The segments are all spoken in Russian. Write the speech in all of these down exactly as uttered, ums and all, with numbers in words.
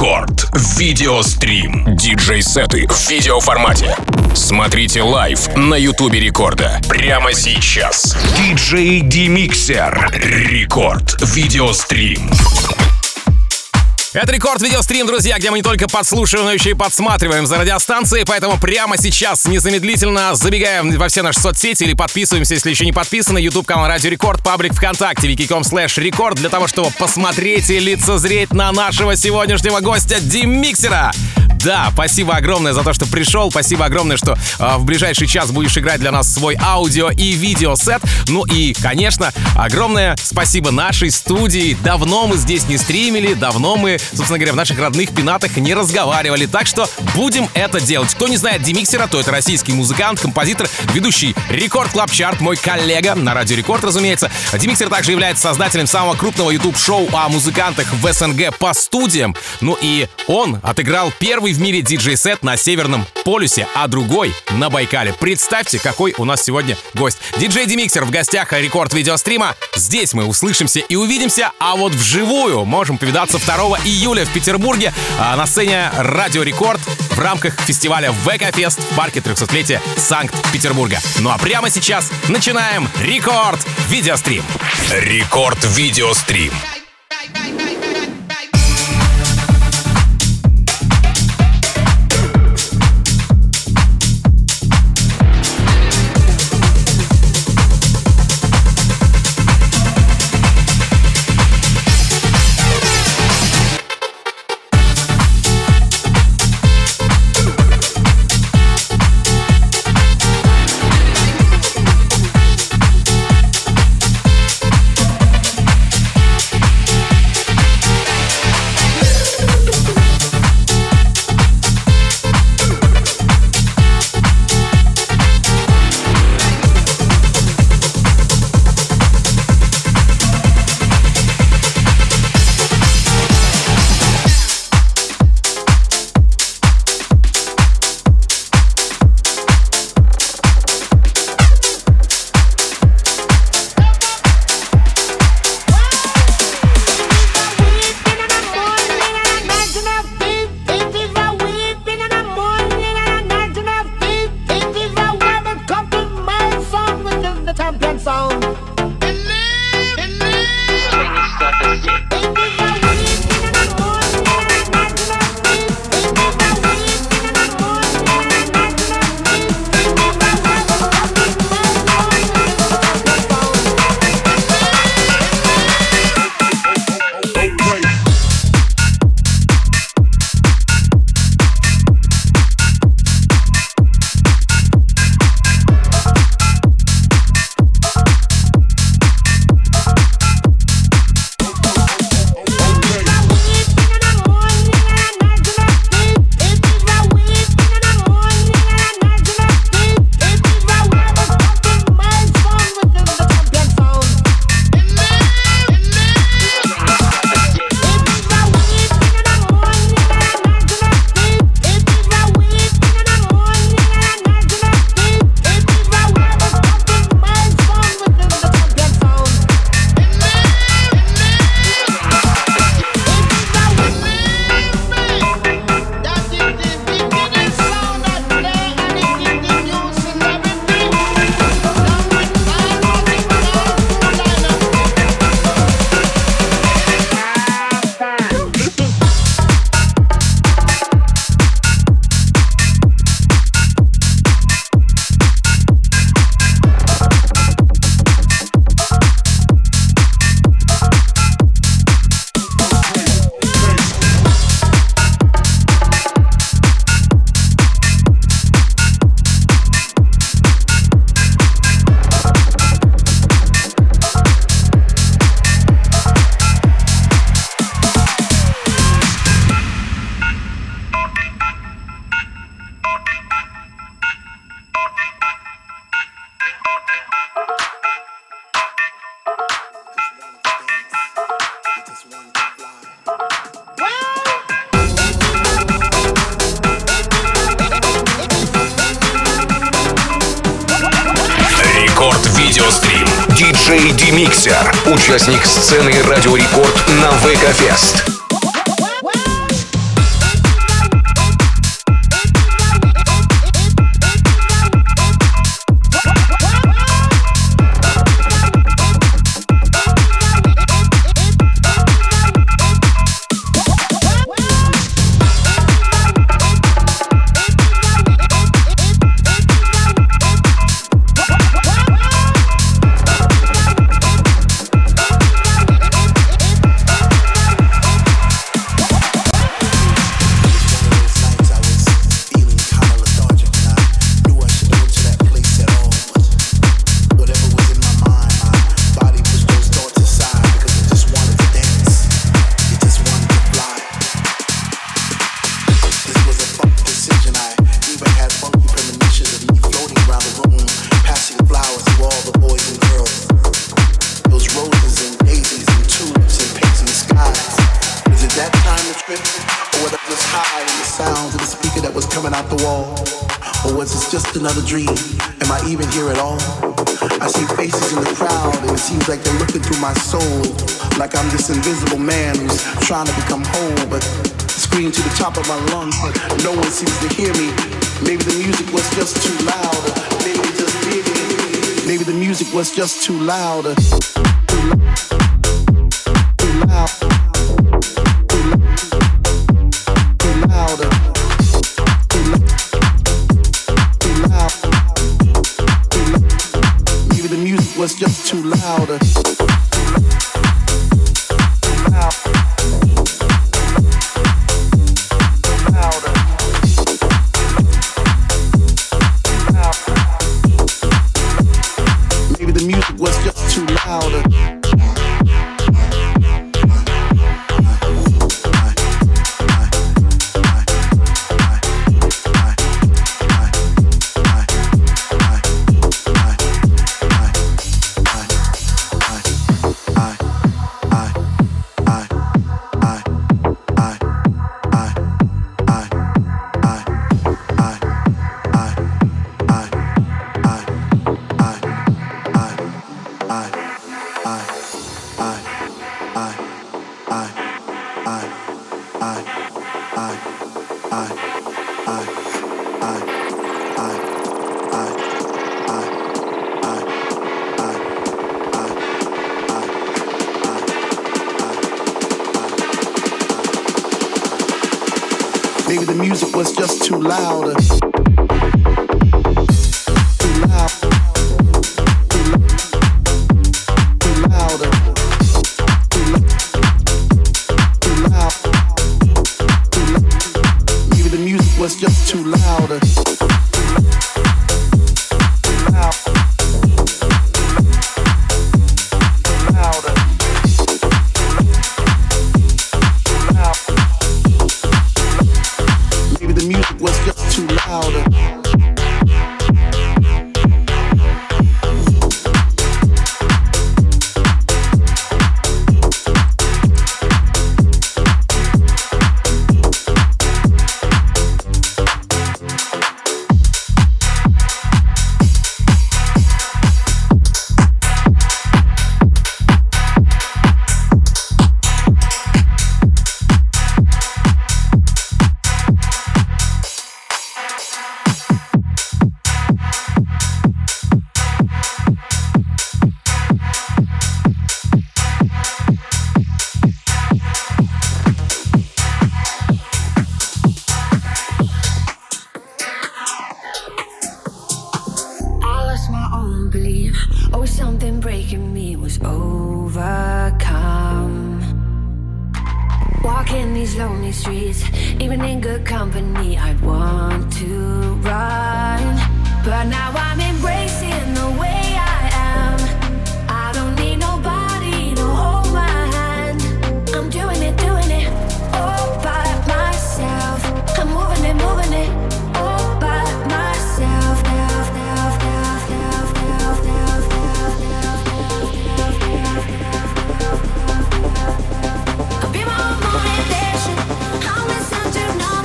Рекорд. Видеострим. Диджей-сеты в видеоформате. Смотрите лайв на Ютубе Рекорда. Прямо сейчас. Диджей Демиксер. Рекорд. Видеострим. Это Рекорд Видеострим, друзья, где мы не только подслушиваем, но еще и подсматриваем за радиостанцией, поэтому прямо сейчас незамедлительно забегаем во все наши соцсети или подписываемся, если еще не подписаны. YouTube-канал Радио Рекорд, паблик ВКонтакте, wiki.com слэш рекорд, для того, чтобы посмотреть и лицезреть на нашего сегодняшнего гостя Демиксера. Да, спасибо огромное за то, что пришел. Спасибо огромное, что э, в ближайший час будешь играть для нас свой аудио и видеосет. Ну и, конечно, огромное спасибо нашей студии. Давно мы здесь не стримили, давно мы, собственно говоря, в наших родных пенатах не разговаривали. Так что будем это делать. Кто не знает Демиксера, то это российский музыкант, композитор, ведущий Рекорд Клаб Чарт, мой коллега на Радио Рекорд, разумеется. Демиксер также является создателем самого крупного YouTube-шоу о музыкантах в СНГ по студиям. Ну и он отыграл первый в мире диджей-сет на Северном полюсе, а другой на Байкале. Представьте, какой у нас сегодня гость. Диджей Демиксер в гостях Рекорд Видеострима. Здесь мы услышимся и увидимся, а вот вживую можем повидаться второго июля в Петербурге на сцене Радио Рекорд в рамках фестиваля ВК-фест в парке трехсотлетия Санкт-Петербурга. Ну а прямо сейчас начинаем Рекорд Видеострим. Рекорд Видеострим. Видеострим. Диджей Демиксер. Участник сцены Радио Рекорд на ВК-фест. the trip? Or was I just high in the sounds of the speaker that was coming out the wall? Or was this just another dream? Am I even here at all? I see faces in the crowd and it seems like they're looking through my soul, like I'm this invisible man who's trying to become whole, but scream to the top of my lungs, but no one seems to hear me. Maybe the music was just too loud. Maybe they just did it. Maybe the music was just too loud. Too loud. Too loud. Too loud. Too loud. Too loud. Too loud. Maybe the music was just too loud. Maybe the music was just too loud. Too loud. Too loud. Too loud. Too loud. Too loud. Too loud. Maybe the music was just too loud.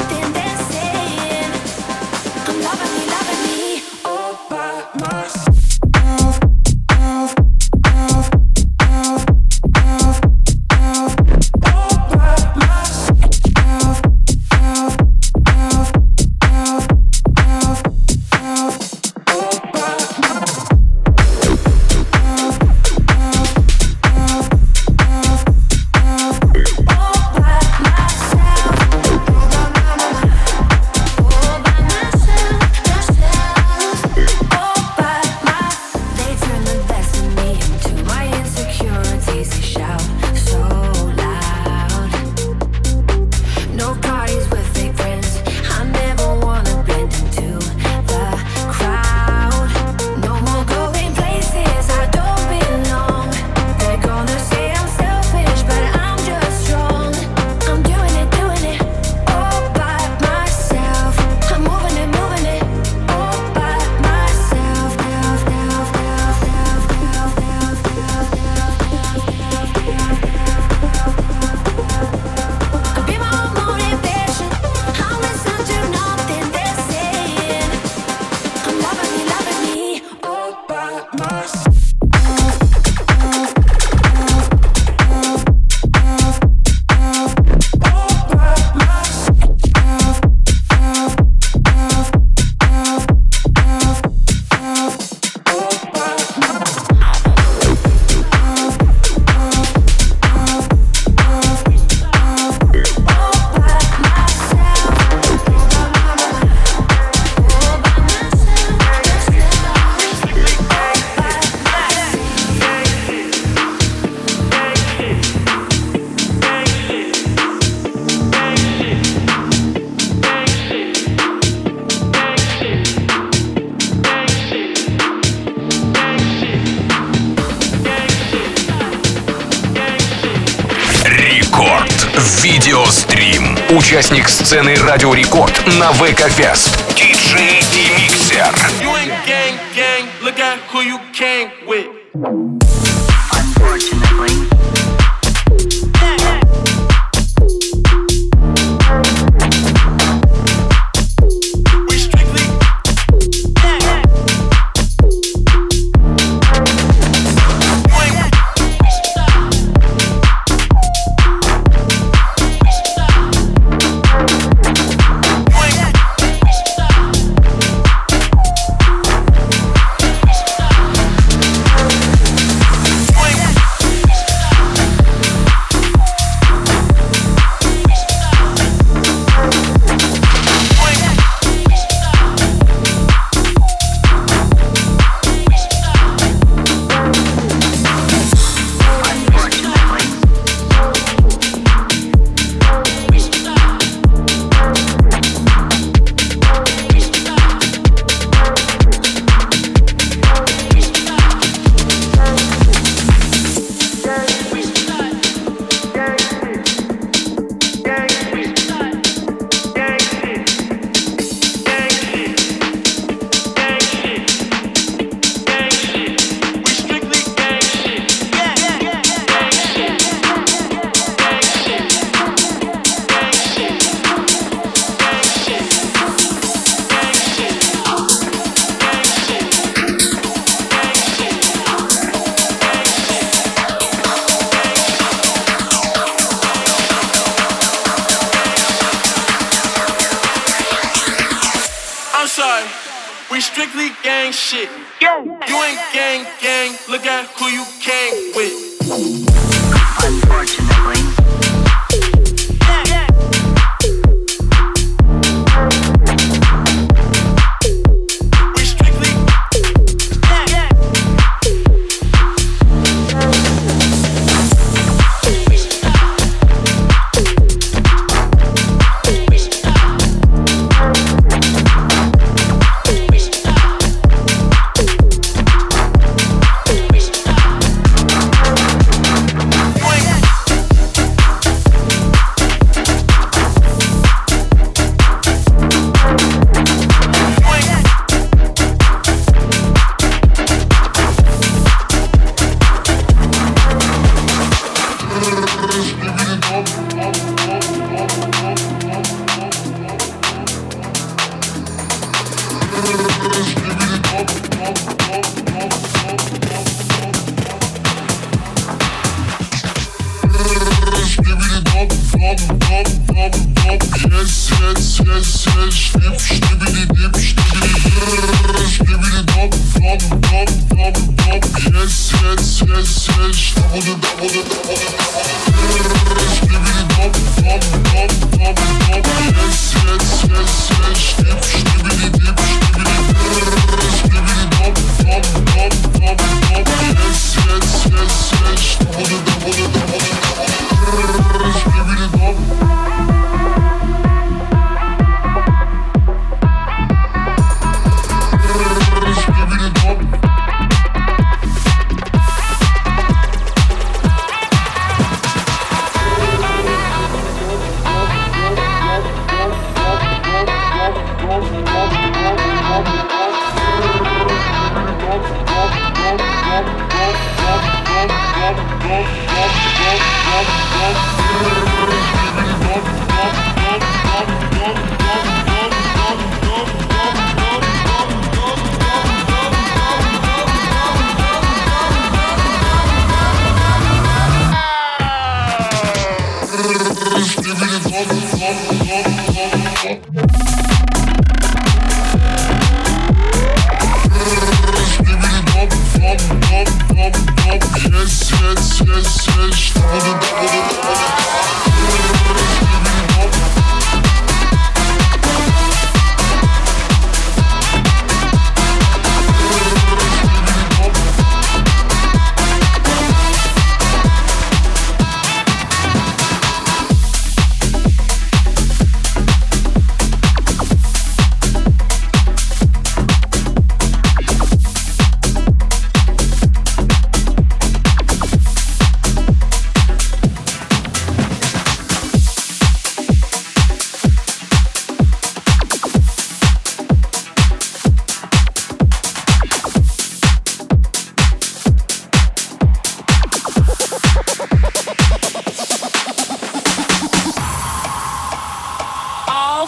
Loving me, loving me, all by myself. Стрим. Участник сцены Радио Рекорд на ВК Фест. диджей Демиксер.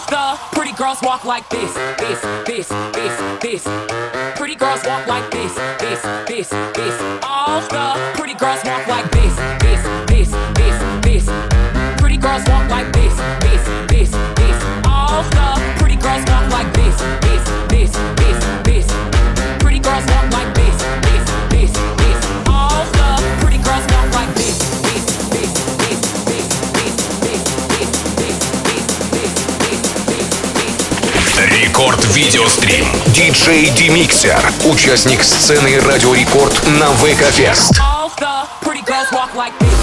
the pretty girls walk like this, this, this, this, this. Pretty girls walk like this, this, this, this. All the pretty girls walk like this, this, this, this, this. Pretty girls walk like this, this, this, this. All the pretty girls walk like this, this, this, this, this. Pretty girls walk like this, this, this, this. All the pretty girls walk like this, this, this, this, this, this, this, this, this, this, this, this. Рекорд видеострим. Диджей Демиксер. Участник сцены Радио Рекорд на ВК-фест. All the pretty girls walk like this.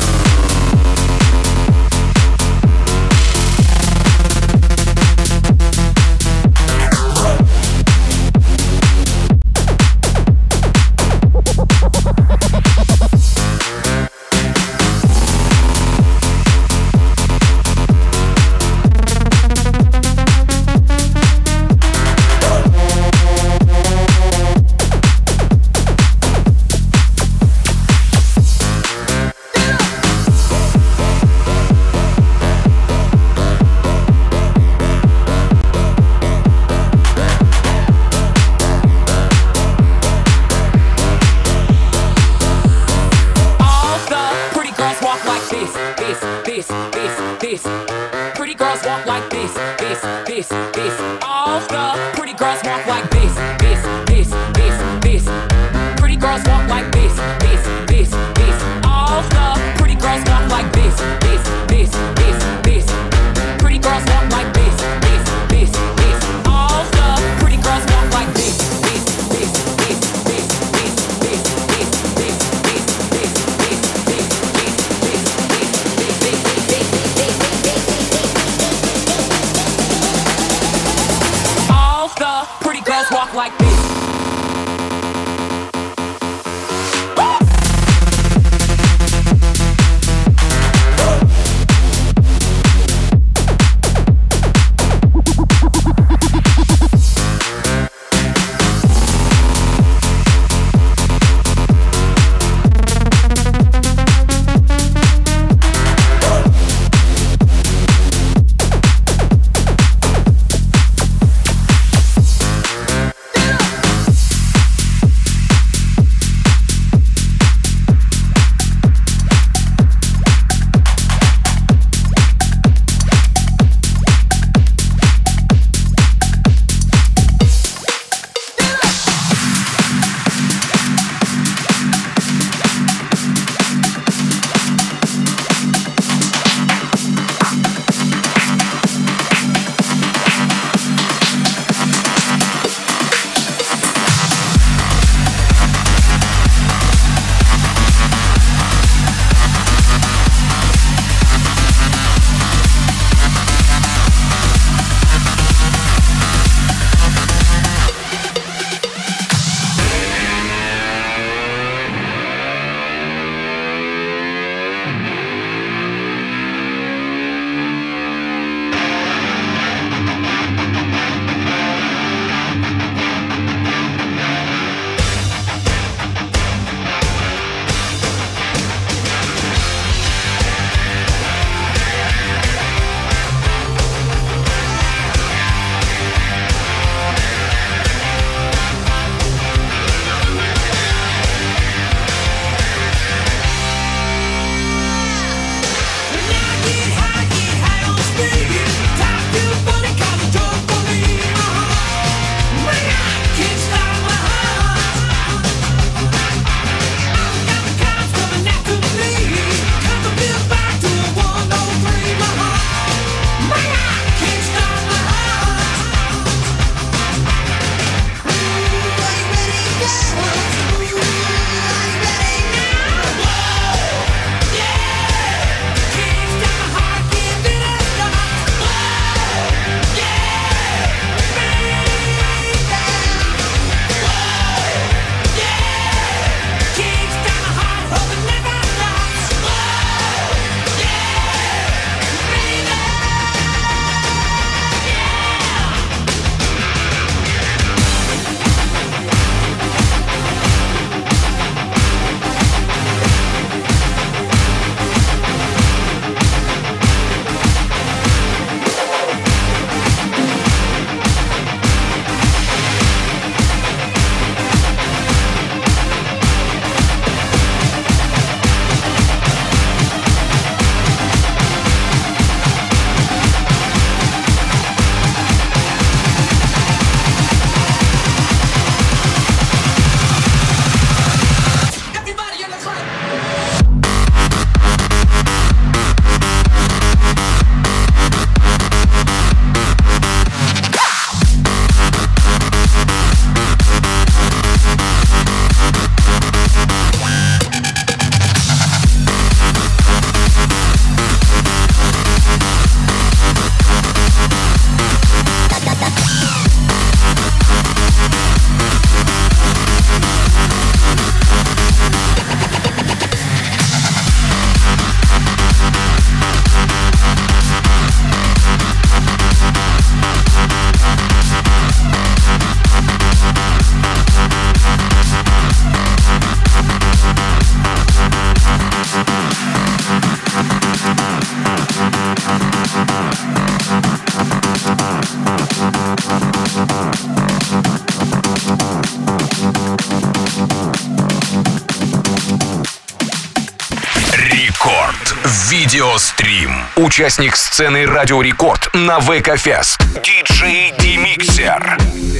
Видеострим. Участник сцены Радио Рекорд на ВК Фест. диджей Демиксер.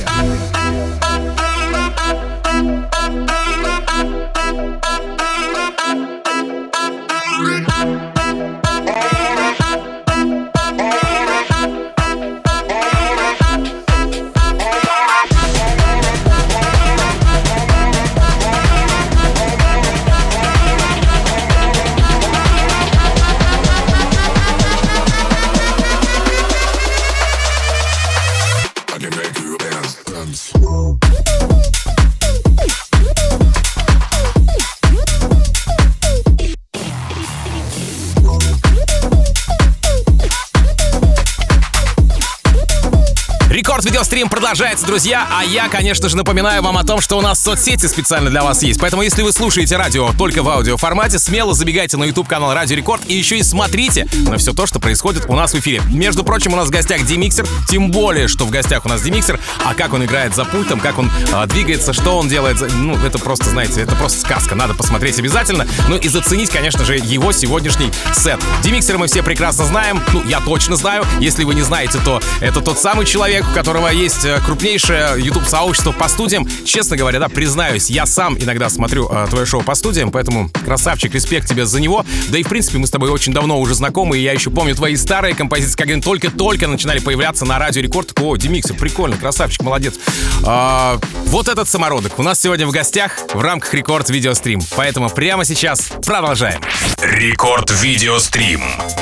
Видеострим продолжается, друзья, а я, конечно же, напоминаю вам о том, что у нас соцсети специально для вас есть. Поэтому, если вы слушаете радио только в аудиоформате, смело забегайте на YouTube-канал Радио Рекорд и еще и смотрите на все то, что происходит у нас в эфире. Между прочим, у нас в гостях Демиксер, тем более, что в гостях у нас Демиксер, а как он играет за пультом, как он а, двигается, что он делает, ну, это просто, знаете, это просто сказка, надо посмотреть обязательно. Ну и заценить, конечно же, его сегодняшний сет. Демиксера мы все прекрасно знаем, ну, я точно знаю, если вы не знаете, то это тот самый человек, у которого есть крупнейшее YouTube-сообщество по студиям. Честно говоря, да, признаюсь, я сам иногда смотрю э, твое шоу по студиям, поэтому красавчик, респект тебе за него. Да и, в принципе, мы с тобой очень давно уже знакомы, и я еще помню твои старые композиции, когда они только-только начинали появляться на Радио Рекорд. О, Демиксер, прикольно, красавчик, молодец. А, вот этот самородок у нас сегодня в гостях в рамках Рекорд Видеострим. Поэтому прямо сейчас продолжаем. Рекорд Видеострим.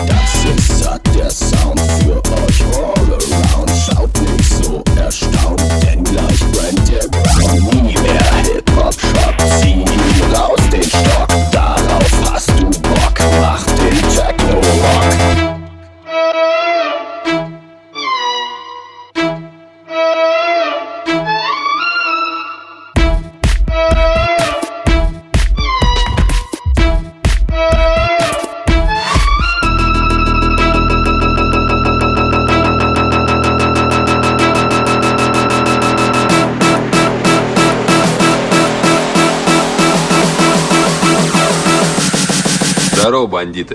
Erstaunt, denn gleich brennt der Ground. Nie mehr Hip-Hop-Shop, zieh ihn raus den Stock. Darauf hast du Bock, mach den Techno-Rock. Здорово, бандиты.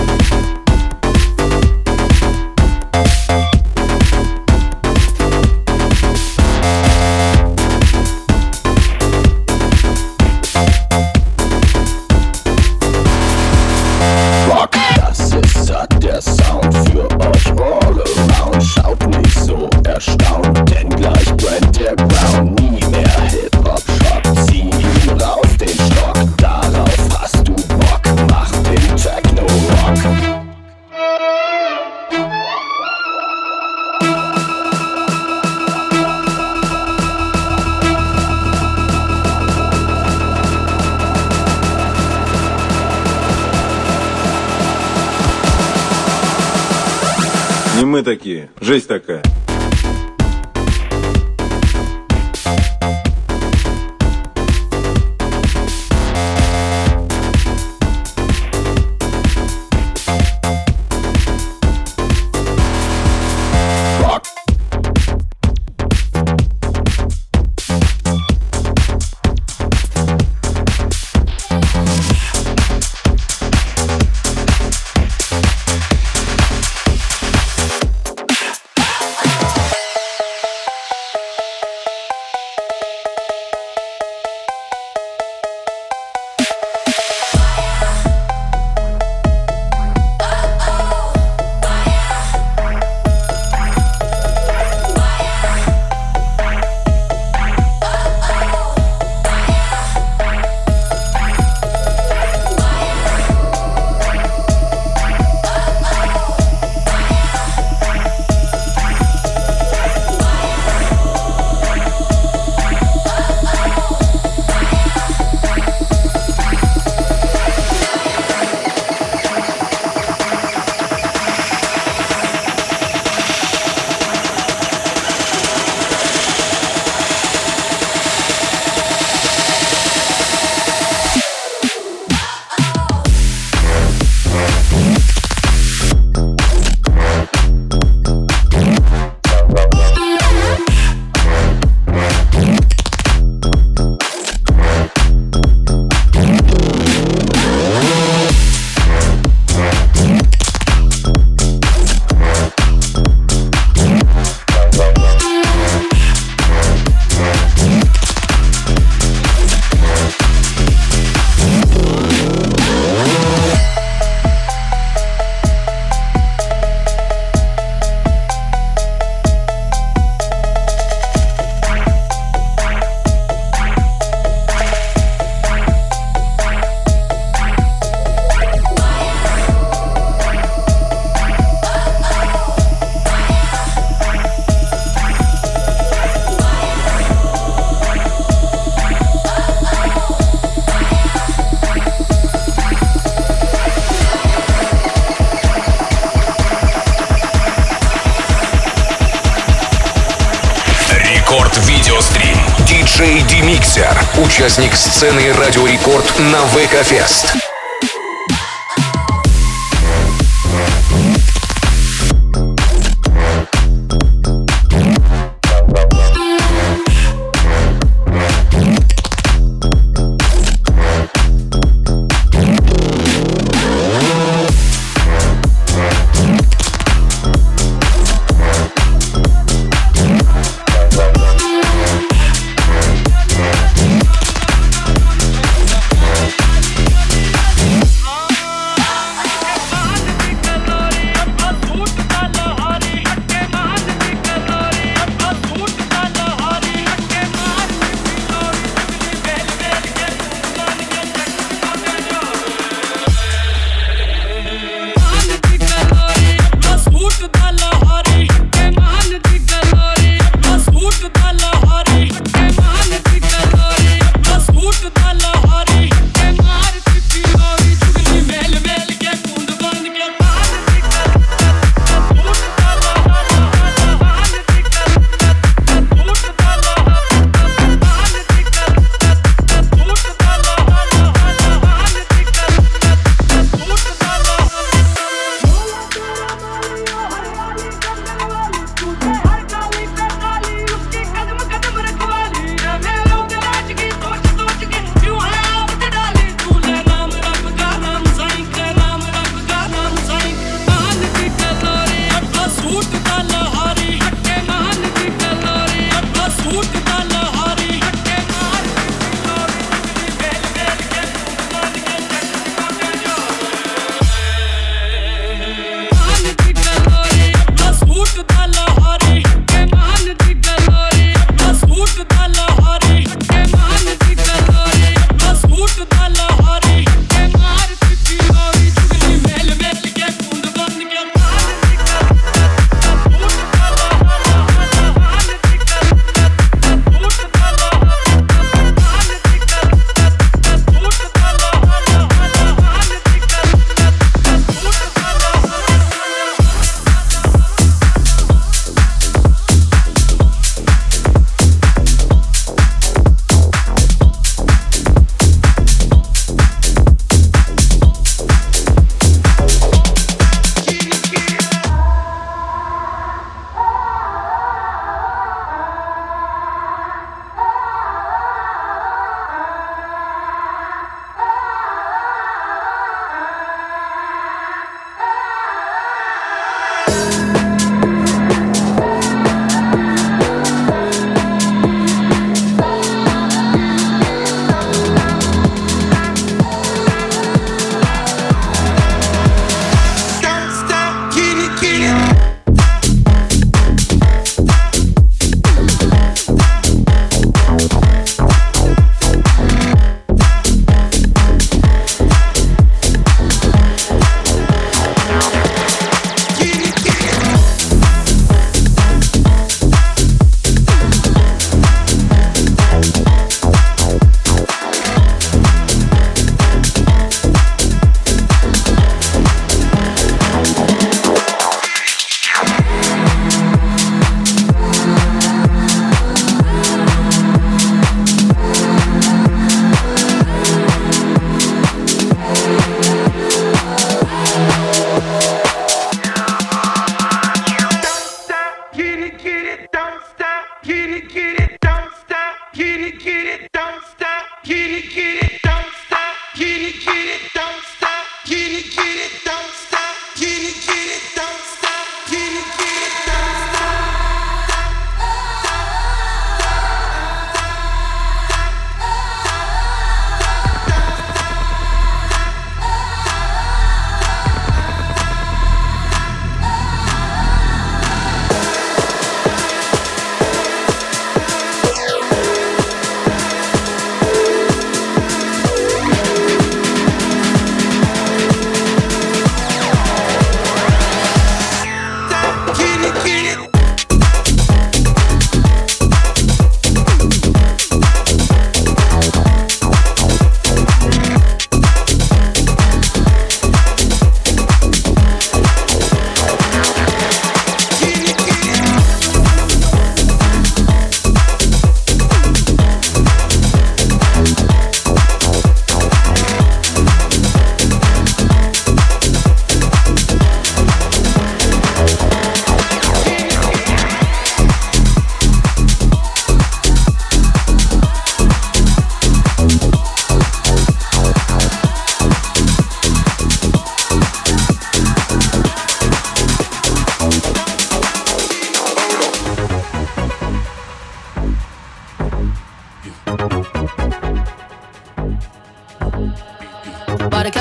Rock, das ist satt, der Sound für euch all around. Schaut nicht so erstaunt, denn gleich brennt der Ground. Nie mehr Hip-Hop-Shop, zieh ihn raus den Stock. Darauf hast du Bock, mach den Techno-Rock. Не мы такие, жизнь такая. диджей Демиксер, участник сцены Радио Рекорд на ВК-фест.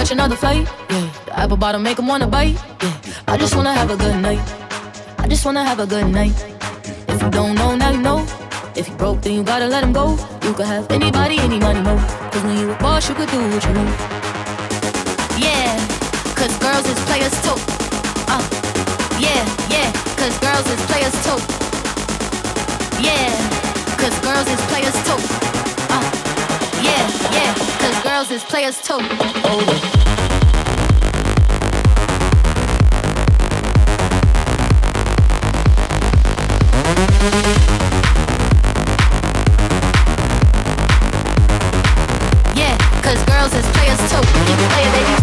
catch another flight. Yeah, the apple bottom make 'em wanna bite. Yeah, I just wanna have a good night. I just wanna have a good night. If you don't know, now you know. If you broke, then you gotta let him go. You could have anybody, any money, mo. Cause when you a boss, you could do what you want. Yeah, cause girls is players too. Uh, yeah, yeah, cause girls is players too. Yeah, cause girls is players too. Uh, yeah, yeah, cause girls is players too. Oh. Yeah, cause girls is players too. You can play it, baby.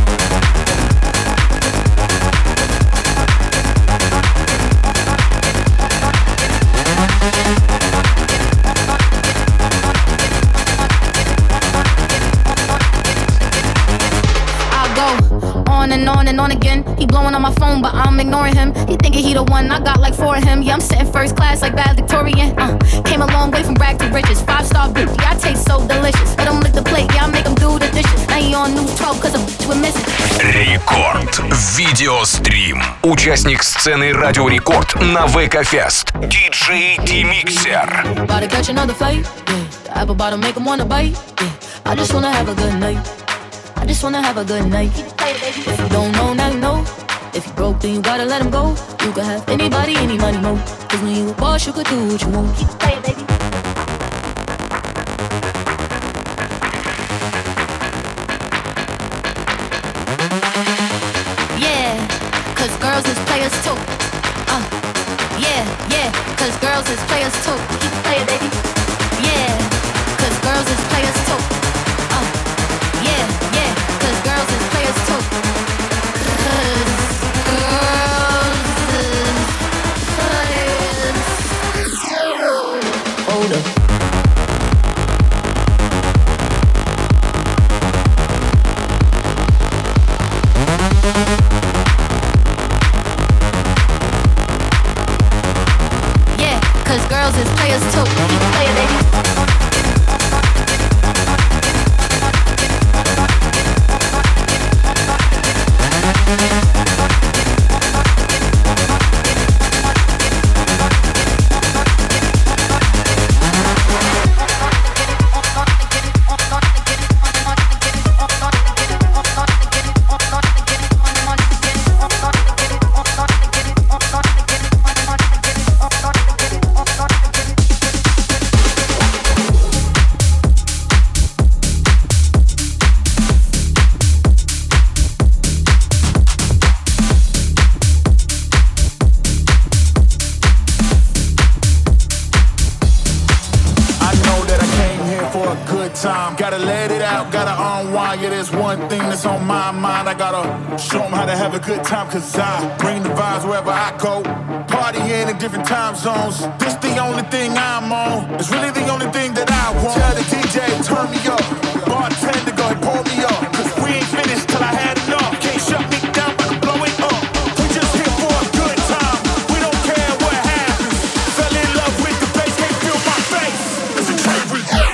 On and on and on again. He blowing on my phone, but I'm ignoring him. He thinking he the one, I got like four of him. Yeah, I'm sitting first class like bad Victorian. Uh, came a long way from rag to riches. Five star bitch, yeah, I taste so delicious. Let him lick the plate, yeah, I make him do the dishes. Now he on news twelve, cause I'm with missing. Рекорд. Видеострим. Участник сцены Радио Рекорд на ВК-фест. диджей D-Mixer. About to catch another flight. Yeah, the apple bottom make 'em wanna bite. Yeah, I just wanna have a good night. I just wanna have a good night. If you don't know, now you know. If you broke, then you gotta let him go. You could have anybody, any money, mo. Cause when you a boss, you could do what you want. Keep playing, baby. Yeah, cause girls is players too. Uh, yeah, yeah, cause girls is players too. Keep playing, baby. Yeah, cause girls is players too. Uh, yeah, yeah, cause girls is players too. Hold up. Yeah, cause girls is players too. Keep playing, baby. Show them how to have a good time, cause I bring the vibes wherever I go. Partying in different time zones. This the only thing I'm on. It's really the only thing that I want. Tell the D J, turn me up. Bartender, go and pour me up. Cause we ain't finished till I had enough. Can't shut me down, but I'm blowing up. We just here for a good time. We don't care what happens. Fell in love with the bass, can't feel my face. It's a train remix.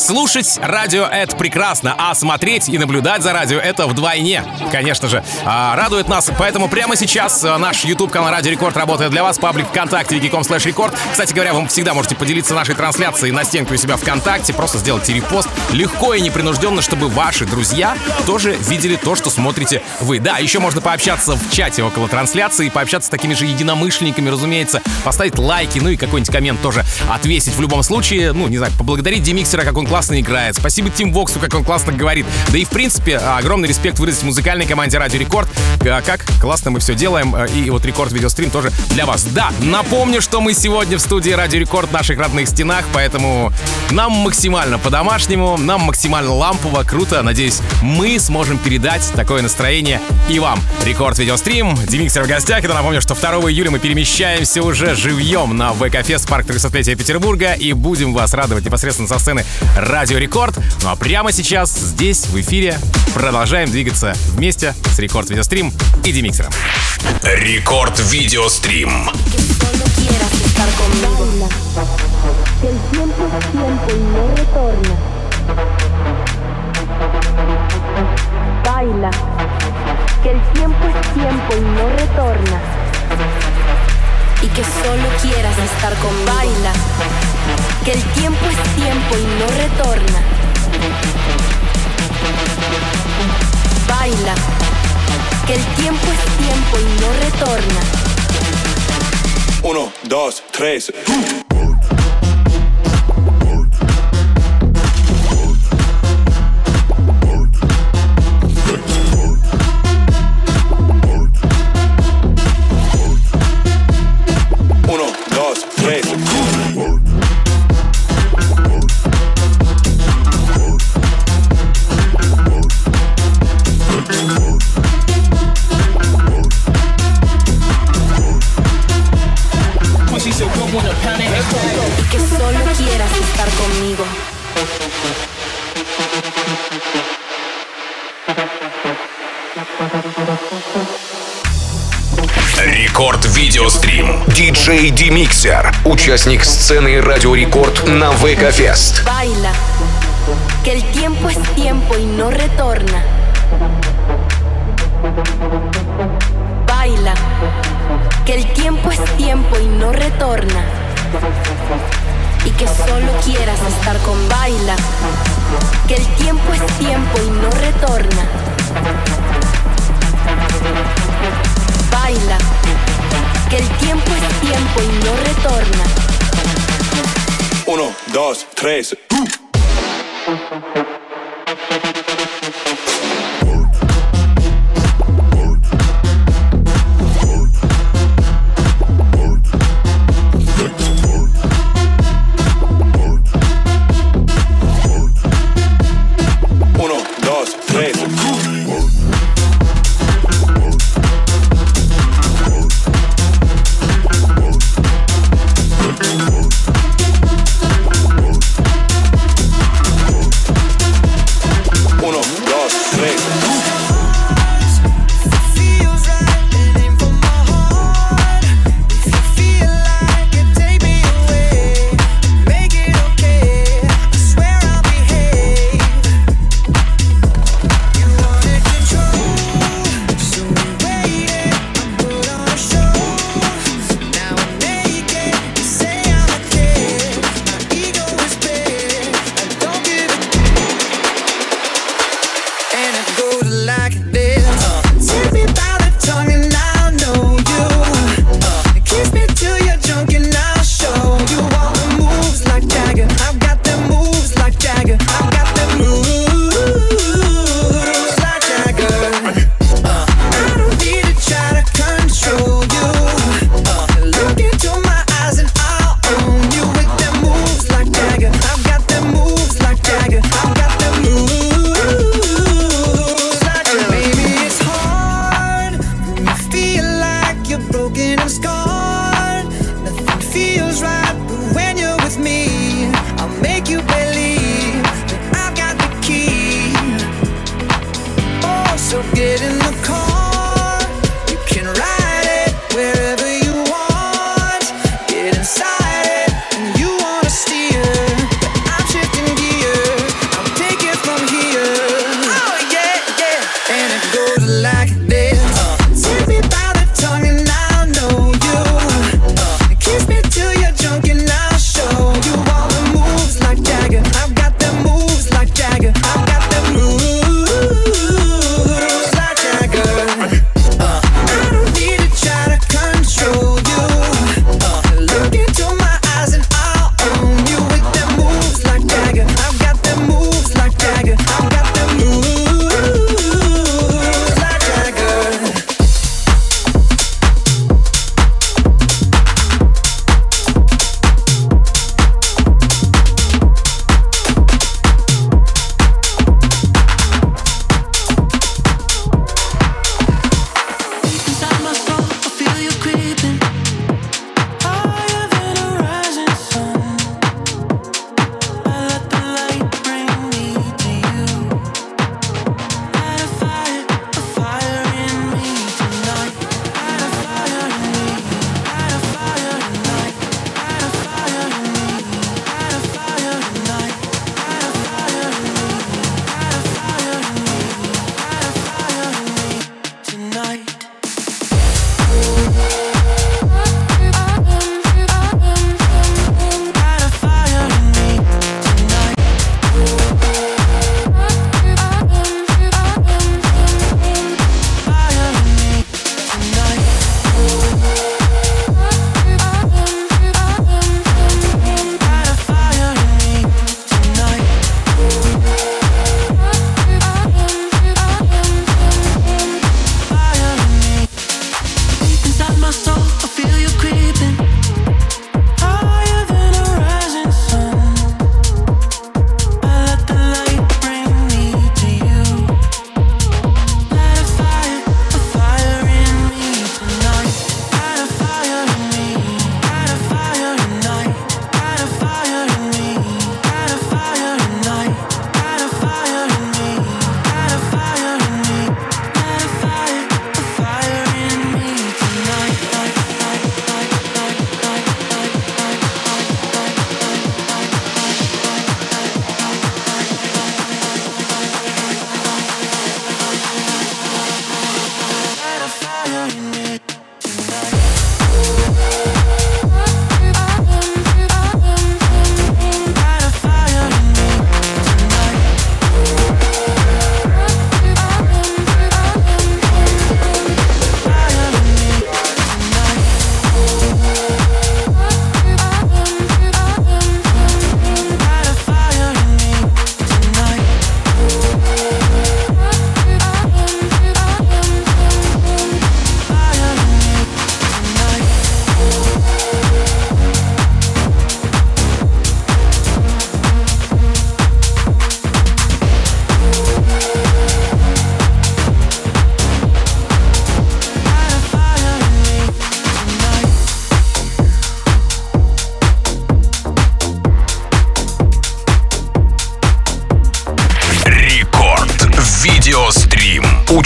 Слушать радио — это прекрасно, а смотреть и наблюдать за радио — это вдвойне, конечно же. А, радует нас, поэтому прямо сейчас наш YouTube-канал Радио Рекорд работает для вас. Паблик ВКонтакте wiki точка com слэш рекорд. Кстати говоря, вы всегда можете поделиться нашей трансляцией на стенку у себя ВКонтакте, просто сделайте репост легко и непринужденно, чтобы ваши друзья тоже видели то, что смотрите вы. Да, еще можно пообщаться в чате около трансляции, пообщаться с такими же единомышленниками, разумеется, поставить лайки, ну и какой-нибудь коммент тоже отвесить в любом случае. Ну, не знаю, поблагодарить Демиксера, как он классно играет. Спасибо Тим Воксу, как он классно говорит. Да и, в принципе, огромный респект выразить музыкальной команде Радио Рекорд. Как классно мы все делаем. И вот Рекорд Видеострим тоже для вас. Да, напомню, что мы сегодня в студии Радио Рекорд в наших родных стенах, поэтому нам максимально по-домашнему, нам максимально лампово, круто. Надеюсь, мы сможем передать такое настроение и вам. Рекорд Видеострим, Демиксер в гостях. И напомню, что второго июля мы перемещаемся уже живьем на ВК-фест парк трехсотлетия Петербурга и будем вас радовать непосредственно со сцены Радио Рекорд. Ну а прямо сейчас здесь, в эфире, продолжаем двигаться вместе с Рекорд Видеострим и Демиксером. Рекорд Видеострим. Baila, que el tiempo es tiempo y no retorna. Y que solo quieras estar con baila, que el tiempo es tiempo y no retorna. Baila, que el tiempo es tiempo y no retorna. Uno, dos, tres. Uno, dos, tres. Y que solo quieras estar conmigo. Рекорд Видеострим. Диджей Демиксер. Участник сцены Радио Рекорд на ВК-фест. Baila, que el tiempo es tiempo y no retorna. Baila, que el tiempo es tiempo y no retorna. Y que solo quieras estar con baila, que el tiempo es tiempo y no retorna. Baila, que el tiempo es tiempo y no retorna. Uno, dos, tres. Uno, dos, tres.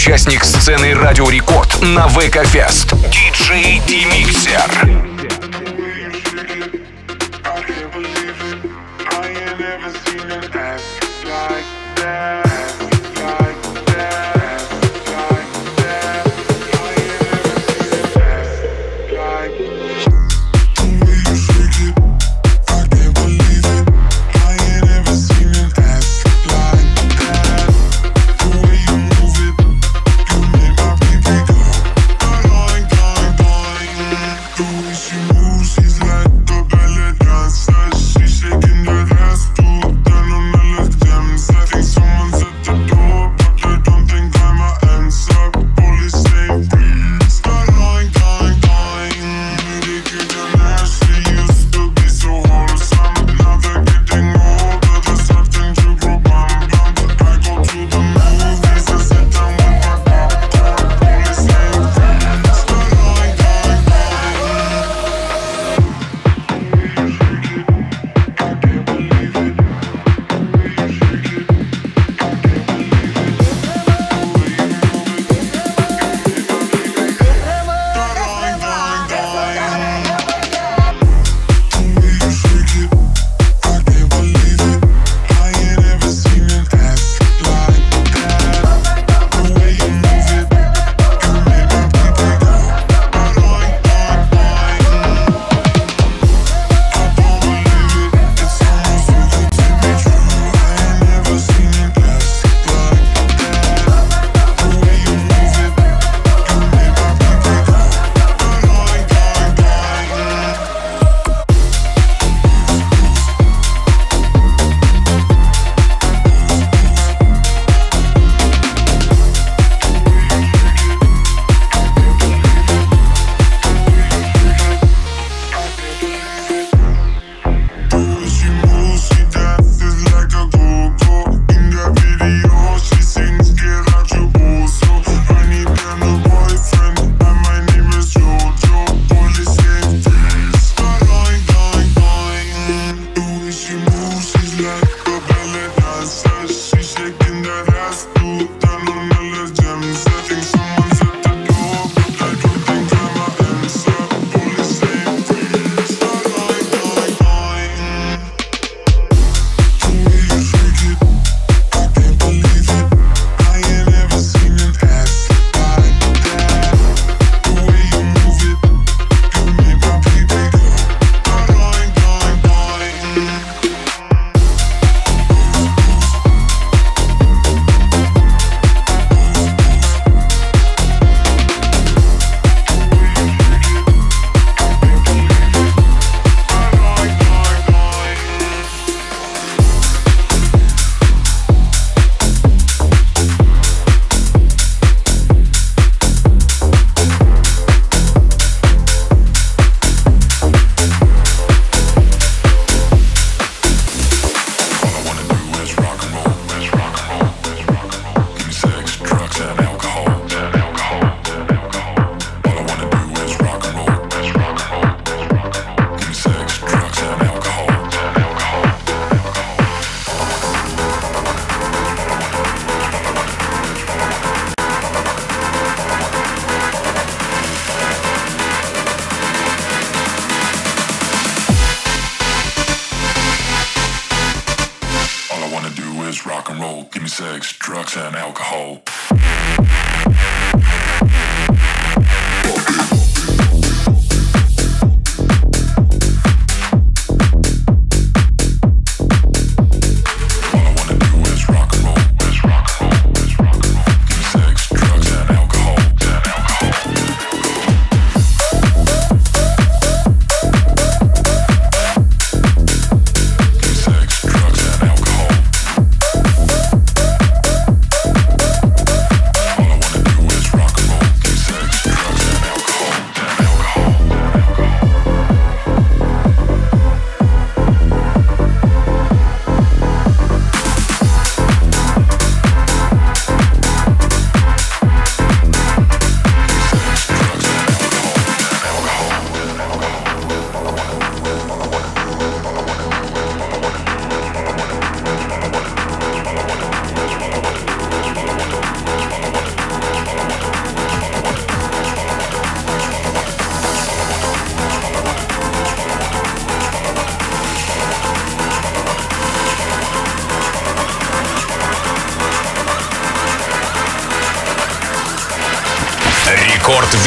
участник сцены Радио Рекорд на ВК-фест. диджей D-Mixer.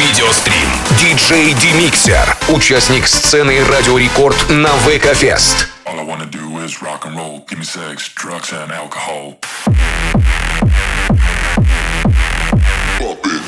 Видеострим. Диджей Демиксер. Участник сцены Радио Рекорд на ВК-фест. All I wanna do is rock and roll. Give me sex, drugs and alcohol. Pop it.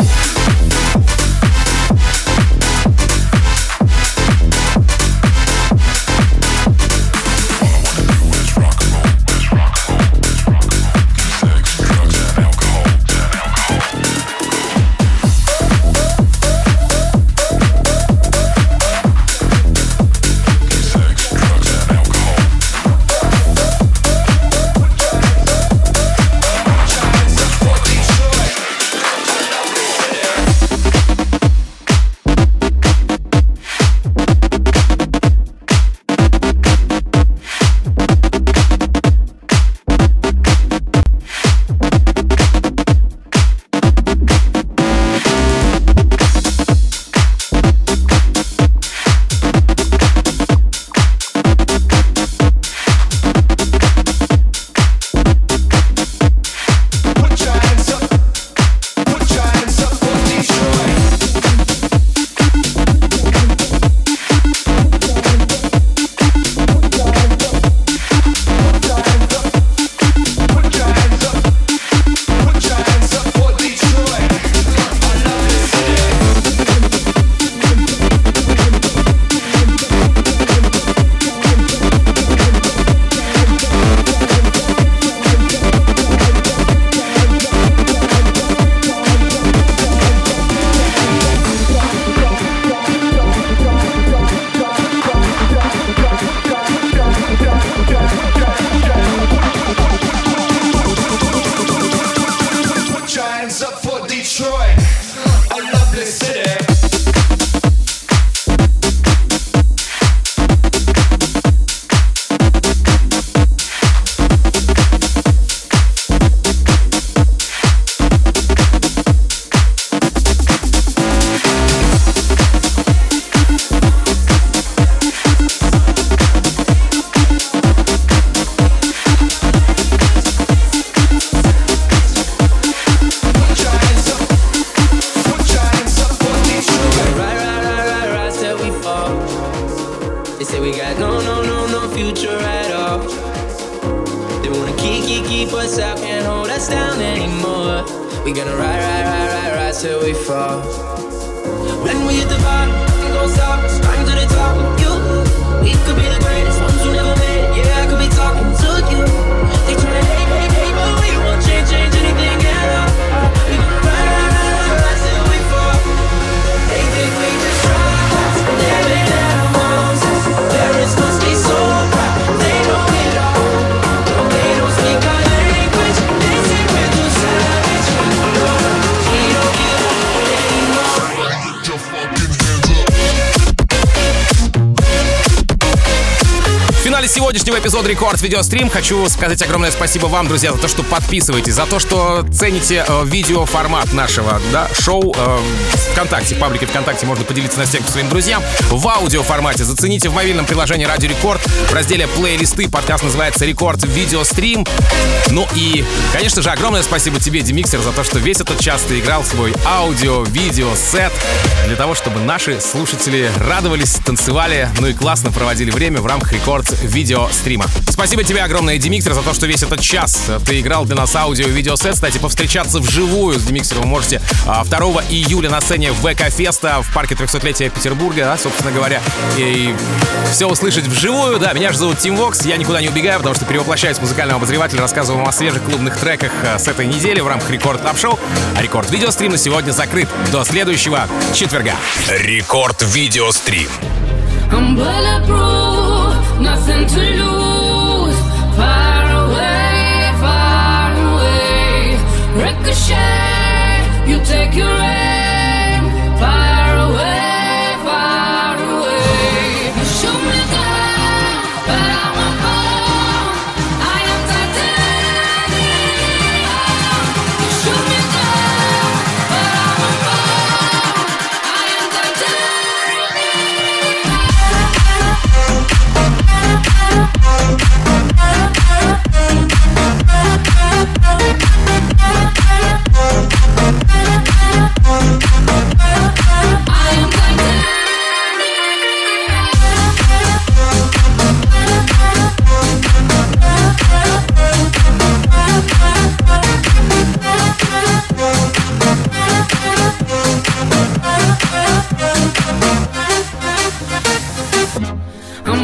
Сегодняшнего эпизода Рекорд Видеострим хочу сказать огромное спасибо вам, друзья, за то, что подписываетесь, за то, что цените э, видеоформат нашего да, шоу э, ВКонтакте, в паблике ВКонтакте можно поделиться на стенку своим друзьям. В аудиоформате зацените в мобильном приложении Радио Рекорд в разделе плейлисты. Подкаст называется Рекорд Видеострим. Ну и, конечно же, огромное спасибо тебе, Демиксер, за то, что весь этот час ты играл свой аудио-видео-сет для того, чтобы наши слушатели радовались, танцевали, ну и классно проводили время в рамках Рекорд Видеострима. Спасибо тебе огромное, Демиксер, за то, что весь этот час ты играл для нас аудио-видеосет. Кстати, повстречаться вживую с Демиксером вы можете второго июля на сцене ВК-феста в парке трехсотлетия Петербурга, да, собственно говоря, и все услышать вживую. Да, меня же зовут Тим Вокс, я никуда не убегаю, потому что перевоплощаюсь в музыкального обозревателя, рассказываю вам о свежих клубных треках с этой недели в рамках Рекорд Клаб Шоу. А Рекорд Видеострим на сегодня закрыт до следующего четверга. Рекорд Видеострим. I'm bulletproof, nothing to lose. Far away, far away. Ricochet, you take your aim. Far away, far away. You shoot me down, but I won't fall. I am titanium. You shoot me down, but I won't fall. I am titanium. We'll be right back.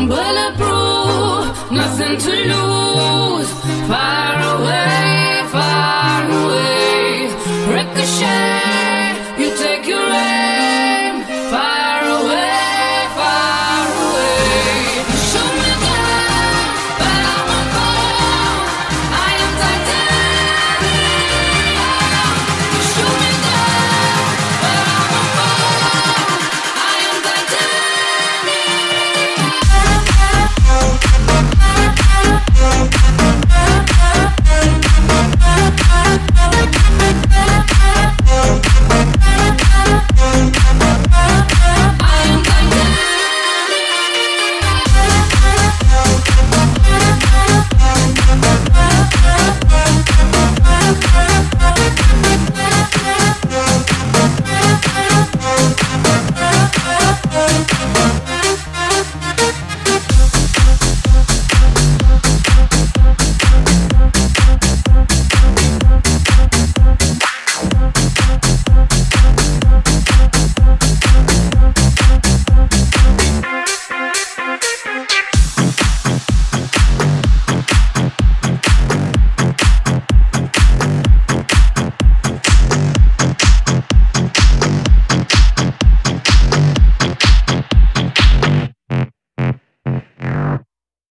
bulletproof, nothing to lose. Far away.